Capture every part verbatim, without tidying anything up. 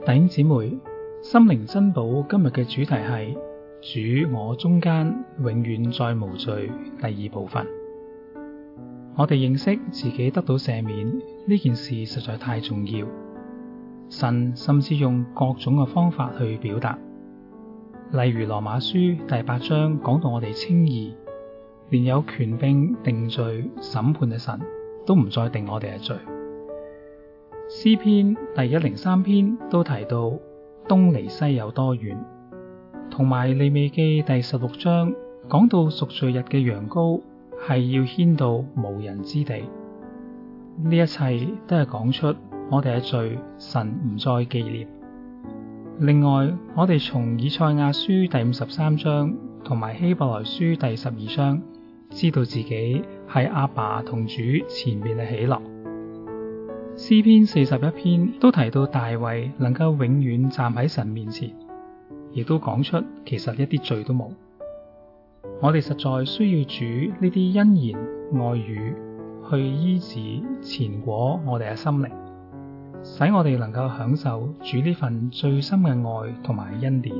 弟兄姊妹，心靈珍寶今日嘅主題係主我中間永遠再無罪，第二部分。我哋認識自己得到赦免呢件事實在太重要，神甚至用各種嘅方法去表達。例如羅馬書第八章講到我哋稱義，連有權柄定罪審判嘅神都唔再定我哋嘅罪。詩篇第一零三篇都提到東離西有多遠，同埋利未記第十六章講到贖罪日嘅羊羔係要牽到無人之地。呢一切都係講出我哋嘅罪神唔再紀念。另外，我哋從以賽亞書第五十三章同埋希伯來書第十二章知道自己係阿爸同主前面嘅喜樂。詩篇四十一篇都提到大衛能夠永遠站喺神面前，亦都講出其實一啲罪都冇。我哋實在需要主呢啲恩言愛語去醫治纏裹我哋嘅心靈，使我哋能夠享受主呢份最深嘅愛同埋恩典。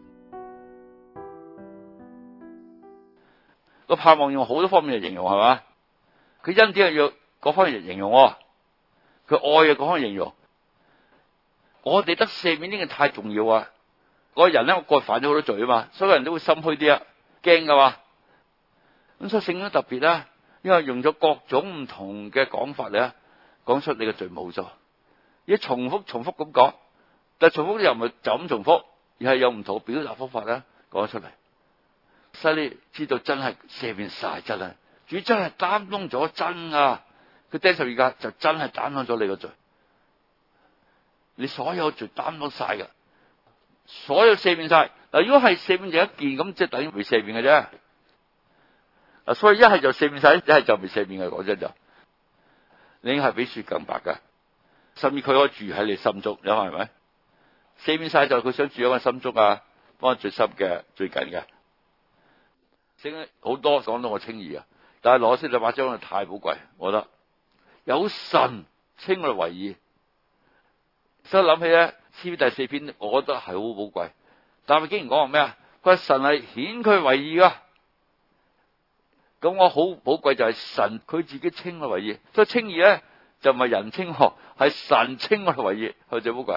個盼望用好多方面嚟形容，係嘛？佢恩典係要各方面嚟形容，佢愛嘅各方面形容。我哋得赦免呢件太重要啊！嗰個人咧，我過去犯咗好多罪啊嘛，所有人都會心虛啲啊，驚噶嘛。咁所以聖經特別啦，因為用咗各種唔同嘅講法嚟講出你嘅罪冇咗，而重複重複咁講，但係重複又唔係就咁重複，而係有唔同表達方法咧講出嚟，使你知道真係赦免晒，真係主真係擔當咗真啊！佢釘十字架就真係擔當咗你個罪，你所有罪擔當晒噶，所有赦免晒。嗱，如果係赦免就一件，咁即係等於未赦免嘅啫。嗱，所以一係就赦免晒，一係就未赦免嘅。講真就，你已經係比雪更白噶，甚至佢可以住喺你心中，你話係咪？赦免晒就佢想住喺我心中啊，幫我最深嘅、最近嘅。聖經好多講到我稱義啊，但係羅斯就把章太寶貴，我覺得。有神稱我哋為義，所以諗起咧，詩篇第四篇，我覺得係好寶貴。但係竟然講話咩啊？佢話神係顯佢為義噶，咁我好寶貴就係神佢自己稱我為義。所以稱義咧就唔係人稱我，係神稱我哋為義，係最寶貴。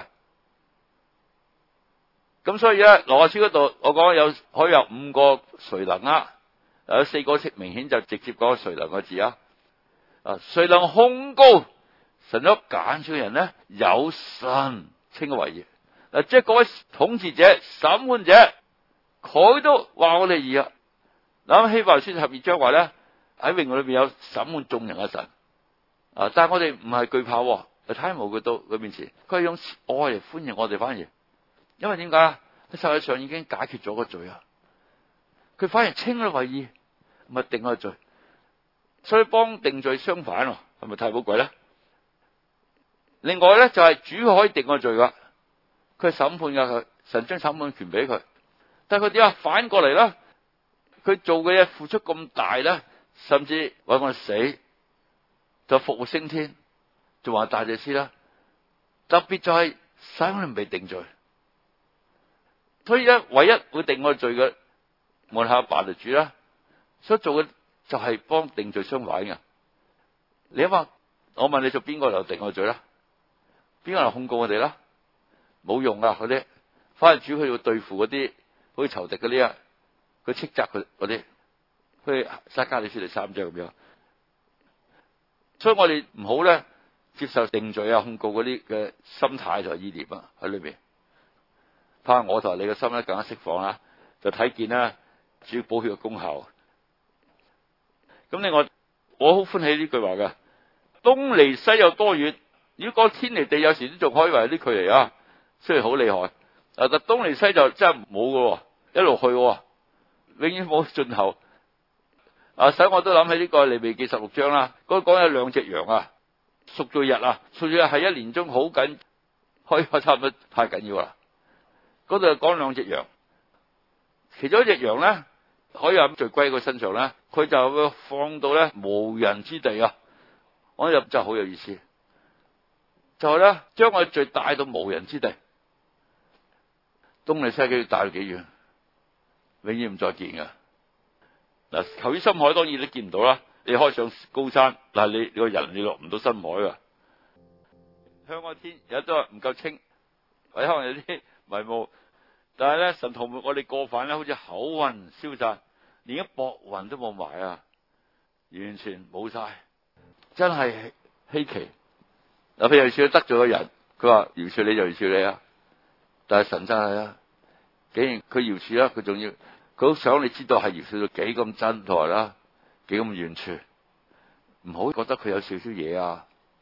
咁所以咧，羅馬書嗰度我講有可以有五個誰能啊，有四個明顯就直接講誰能個字啊。啊！誰能控告神所揀選嘅人呢？有神稱佢為義。嗱，即係各位統治者、審判者，佢都話我哋義啊！嗱，希伯來書十二章話咧，喺榮耀裏邊有審判眾人嘅神啊！但係我哋唔係懼怕，嚟睇無懼到佢面前，佢係用愛嚟歡迎我哋，反而因為點解啊？喺世界上已經解決咗個罪啊！佢反而稱佢為義，唔係定個罪。所以幫定罪相反，係咪太寶貴咧？另外咧就係、是、主可以定個罪噶，佢係審判噶，佢神將審判權俾佢。但係佢點啊？反過嚟啦，佢做嘅嘢付出咁大咧，甚至為我哋死，就復活升天，仲話大祭司啦。特別就係使我哋未定罪，所以咧唯一會定我哋罪嘅，我哋阿爸就主啦，所以做嘅。就係幫定罪相反嘅。你話我問你做邊個就定我罪啦？邊個嚟控告我哋啦？冇用啊！嗰啲反而主佢要對付嗰啲好似仇敵嗰啲啊，佢斥責佢嗰啲，佢撒迦利書第三章咁樣。所以我哋唔好咧接受定罪啊、控告嗰啲嘅心態同意念啊喺裏邊。怕我同你嘅心咧更加釋放啦，就睇見啦主寶血嘅功效。咁另外，我好歡喜呢句話嘅，東離西有多遠？如果講天離地，有時都仲可以話有啲距離啊，雖然好厲害。啊，但東離西就真係冇嘅，一路去，永遠冇盡頭。啊，使我都諗起呢個利未記十六章啦，嗰講有兩隻羊啊，贖罪日啊，贖罪日係一年中好緊，可以話差唔多太緊要啦。嗰度講兩隻羊，其中一隻羊咧。可以喺罪歸佢身上咧，佢就會放到咧無人之地啊！我入就好有意思，就係咧將我罪帶到無人之地。 東離西嘅大到幾遠，永遠唔再見噶。嗱，求於深海當然你見唔到啦，你可以上高山，但係你你個人你落唔到深海噶。香港天有都係唔夠清，或者可能有啲迷霧，但係咧神塗抹我哋過犯咧，好似厚雲消散，連一薄雲都冇埋啊，完全冇晒，真係稀奇。嗱，譬如說得罪個人，佢話饒恕你就饒恕你啊，但係神真係啊，竟然佢饒恕啦，佢仲要佢好想你知道係饒恕到幾咁真台啦，幾咁完全，唔好覺得佢有少少嘢啊，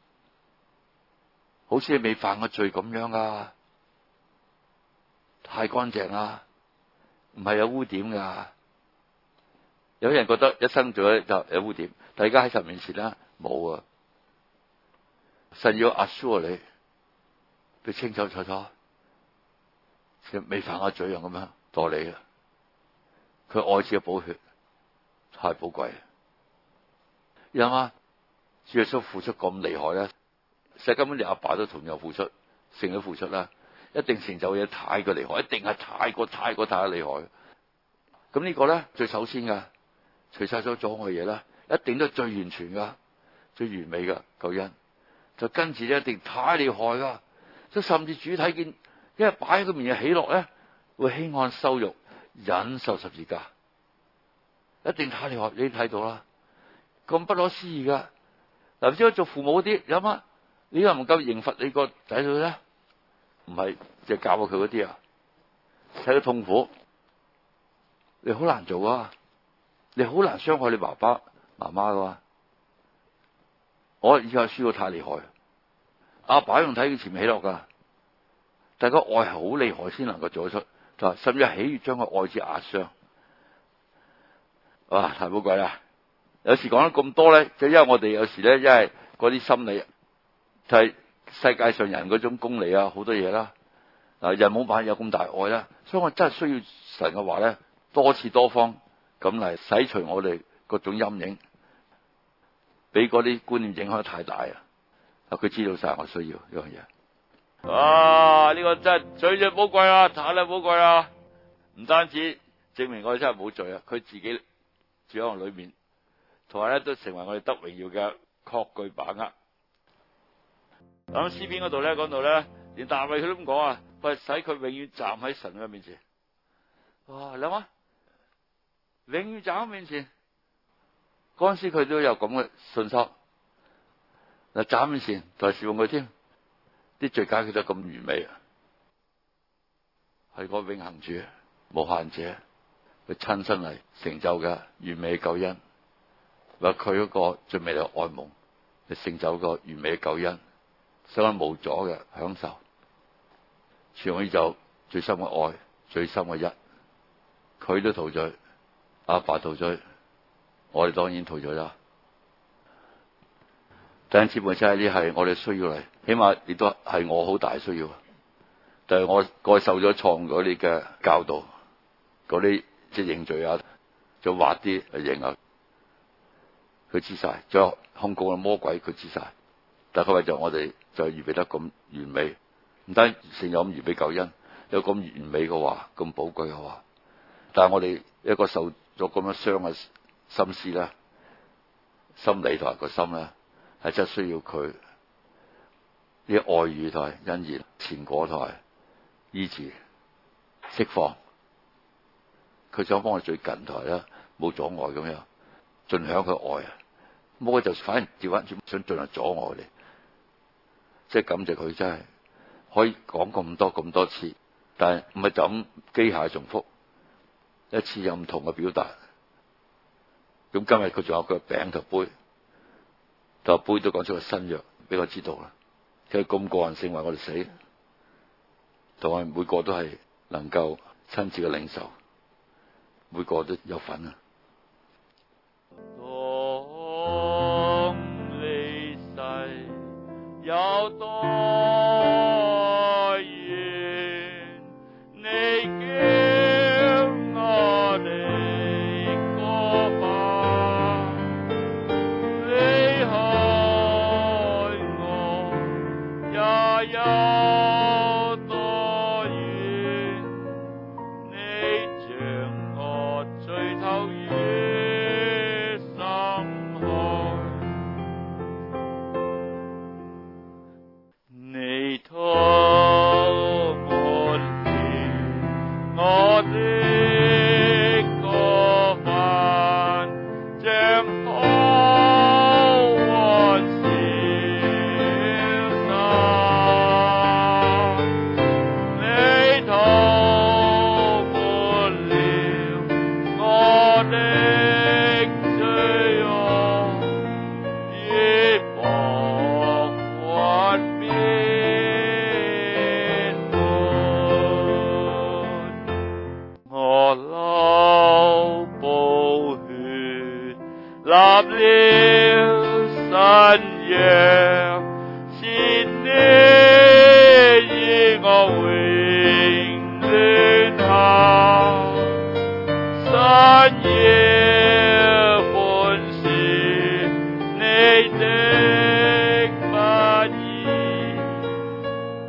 好似你未犯過罪咁樣啊，太乾淨啦，唔係有污點噶。有啲人覺得一生做咗就有污點，但係而家喺神面前咧冇啊。神要 assure 你，佢清楚楚楚，未犯過罪樣咁樣待你啊。佢愛子嘅寶血太寶貴，你諗下，主耶穌付出咁厲害咧，其實根本連阿爸都同樣付出，成咗付出啦，一定成就嘢太過厲害，一定係太過太過太過厲害。咁呢個咧最首先噶，除晒咗阻礙嘢啦，一定都係最完全噶，最完美噶救恩。就跟住咧，一定太厲害噶，即甚至主睇見，因為擺喺佢面前喜樂咧，會輕看羞辱，忍受十字架，一定太厲害。你睇到啦，咁不可思議噶。嗱，唔知做父母嗰啲有乜？你又唔夠刑罰你個仔女咧？唔係就教過佢嗰啲啊，睇到痛苦，你好難做啊，你好難傷害你爸爸媽媽噶。我以前輸到太厲害，阿爸用睇佢前面喜樂噶，但係個愛係好厲害先能夠做得出，就係甚至喜悅將個愛子壓傷。哇，太寶貴啦！有時講得咁多咧，就因為我哋有時咧，因為嗰啲心理就係世界上人嗰種功利啊，好多嘢啦。嗱，人冇辦法有咁大愛啦，所以我真係需要神嘅話咧，多次多方咁嚟洗除我哋各種陰影。俾嗰啲觀念影響得太大啊！佢知道晒我需要呢樣嘢。哇！呢、這個真係最最寶貴啊，太啦寶貴啊！唔單止證明我哋真係冇罪啊，佢自己住喺我裏面，同埋咧都成為我哋得榮耀嘅確據把握。咁詩篇嗰度咧講到咧，連大衛佢都咁講啊，佢係使佢永遠站喺神嘅面前。哇！你諗下，永遠站喺面前。嗰陣時佢都有咁嘅信心，嗱，站面前就係侍奉佢添，啲罪解決得咁完美啊，係個永恆主、無限者，佢親身嚟成就嘅完美嘅救恩，話佢嗰個最美麗嘅愛夢，嚟成就個完美嘅救恩，使我無阻嘅享受，全宇宙最深嘅愛、最深嘅一，佢都陶醉，阿爸陶醉。我哋當然逃咗啦。第一次本身呢係我哋需要嚟，起碼亦都係我好大需要。但係我過受咗創嗰啲嘅教導，嗰啲即係認罪啊，就畫啲嚟認啊，佢知晒，再控告嘅魔鬼佢知晒。但係佢為咗我哋就預備得咁完美，唔單成有咁完美救恩，有咁完美嘅話，咁寶貴嘅話，但係我哋一個受咗咁樣傷嘅心思咧，心理同埋個心咧，係真係需要佢啲愛語同埋恩言、前果同埋醫治、釋放。佢想幫我最近台啦，冇阻礙咁樣，盡享佢愛啊！冇佢就反而調翻轉，想盡量阻礙你。即係感謝佢真係可以講咁多咁多次，但係唔係就咁機械重複，一次有唔同嘅表達。咁今日佢仲有個餅同杯，就杯都講出個新約俾我知道啦。佢咁個人性為我哋死，同我哋每個都係能夠親自嘅領受，每個都有份啊！當離世有多遠，你叫我哋過吧，離開我也有多遠。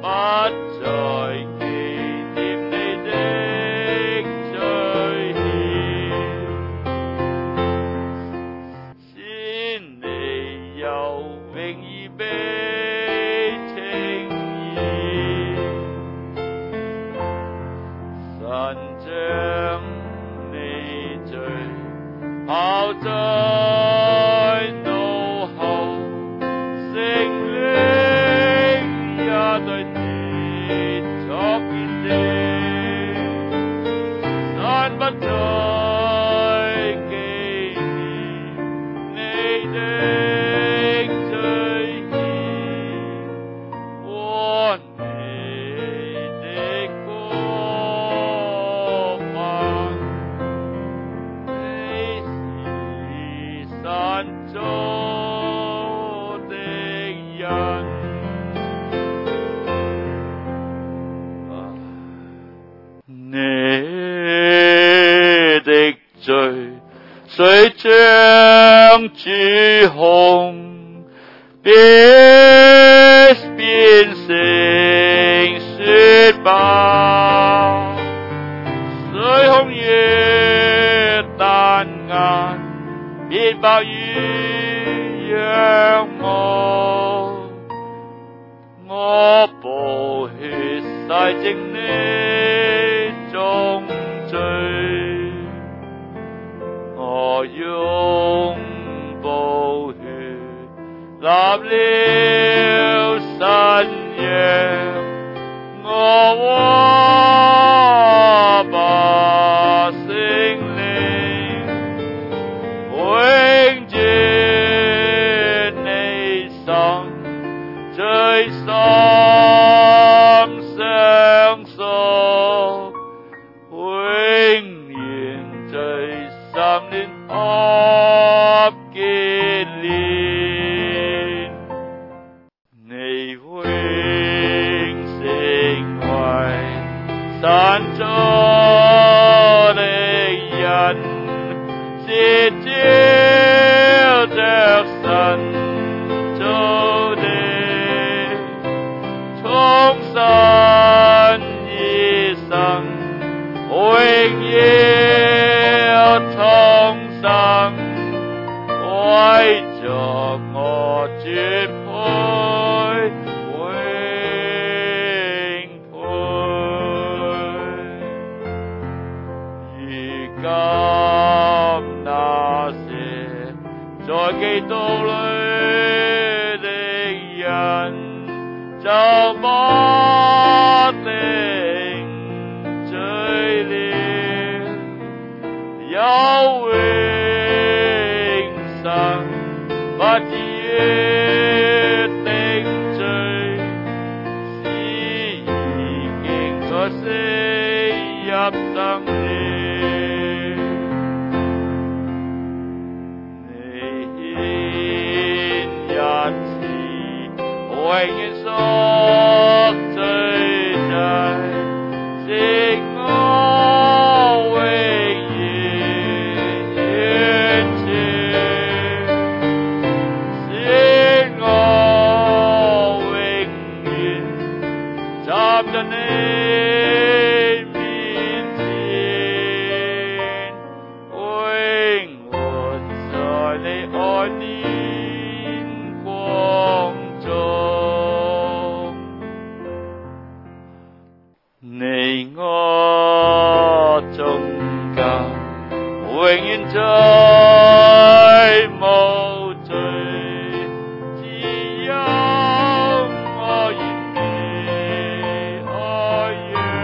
再紀念你的罪愆，使你有永遠被稱義，神將你罪拋在腦後，聖靈也對你作見證，神不再紀念你的罪愆和你的過犯，你是神造的人。你的罪雖像朱紅，必變成雪白；雖紅如丹顏，必白如羊毛。我寶血洗淨你眾罪，我用寶血立了新約，我和把聖靈永住你心，最深相屬，永遠最深戀合結連，你永成為神造的人，是照着神造的，從神而生，永要重生，為着我絕配永配。如今那些在基督裡的人，就不定罪了，有永生，不至於定罪，是已經在死入生了。你獻一次永遠贖罪祭，使我永遠完全，使我永遠站在你面前，永活在你愛憐光中。你我中間永遠再無罪，只有我完美愛羊，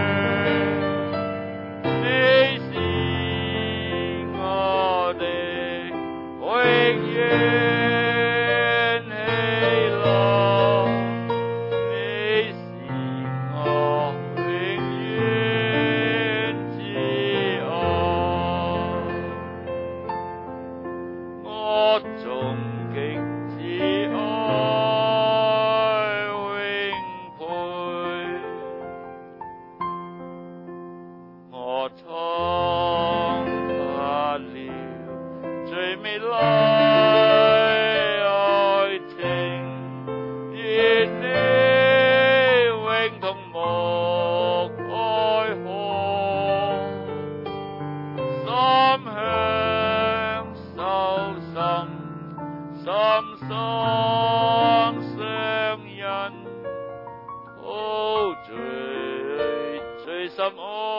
心愛。